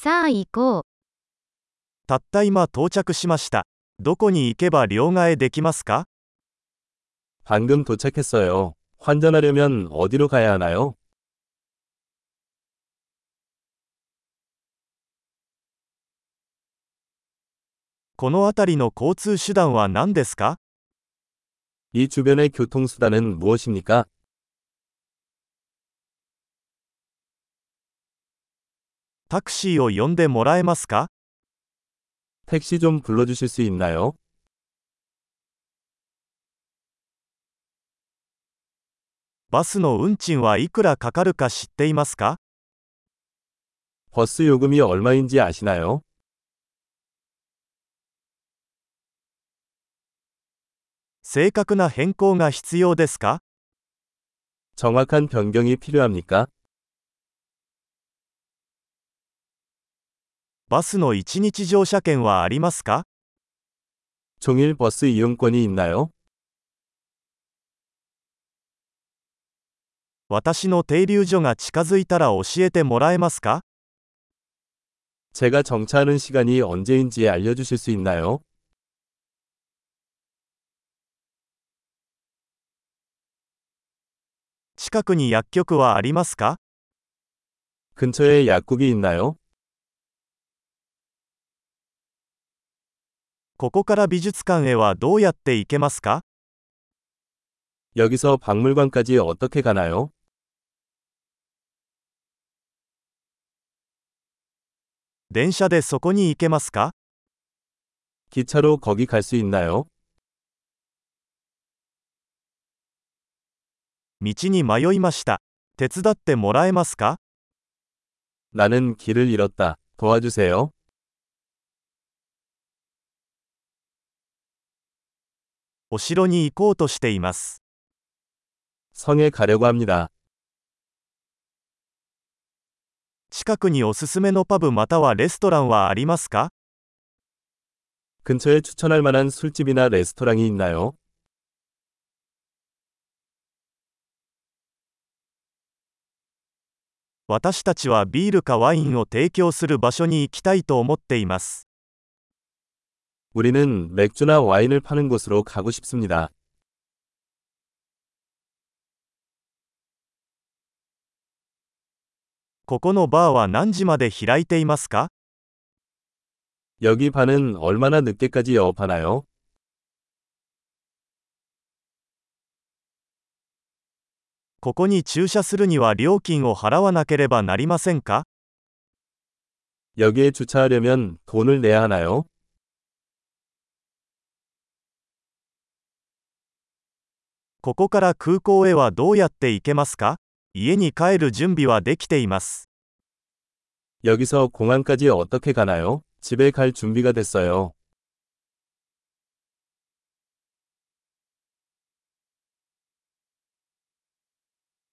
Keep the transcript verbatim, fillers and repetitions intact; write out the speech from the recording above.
さあ行こう。 たった今到着しました。どこに行けば両替できますか？ 방금 도착했어요. 환전하려면 어디로 가야 하나요? この辺りの交通手段は何ですか？ 이 주변의 교통수단은 무엇입니까? タクシーを呼んでもらえますか？ 택시 좀 불러주실 수 있나요? バスの運賃はいくらかかるか知っていますか？ 버스 요금이 얼마인지 아시나요? 正確な変更が必要ですか？ 정확한 변경이 필요합니까? バスのいちにち乗車券はありますか？ 종일 버스 이용권이 있나요? 私の停留所が近づいたら教えてもらえますか？ 제가 정차하는 시간이 언제인지 알려주실 수 있나요? 近くに薬局はありますか？ 근처에 약국이 있나요? ここから美術館へはどうやって行けますか？ 여기서 박물관까지 어떻게 가나요? 電車でそこに行けますか？ 기차로 거기 갈 수 있나요? 道に迷いました。手伝ってもらえますか？ 나는 길을 잃었다. 도와주세요. お城に行こうとしています。 성에 가려고 합니다. 近くにおすすめのパブまたはレストランはありますか？ 근처에 추천할 만한 술집이나 레스토랑이 있나요? 私たちはビールかワインを提供する場所に行きたいと思っています。 우리는 맥주나 와인을 파는 곳으로 가고 싶습니다. ここのバーは何時まで開いていますか？ 여기 바는 얼마나 늦게까지 영업하나요? ここに駐車するには料金を払わなければなりませんか？ 여기에 주차하려면 돈을 내야 하나요? ここから空港へはどうやって行けますか？家に帰る準備はできています。 여기서 공항까지 어떻게 가나요? 집에 갈 준비가 됐어요.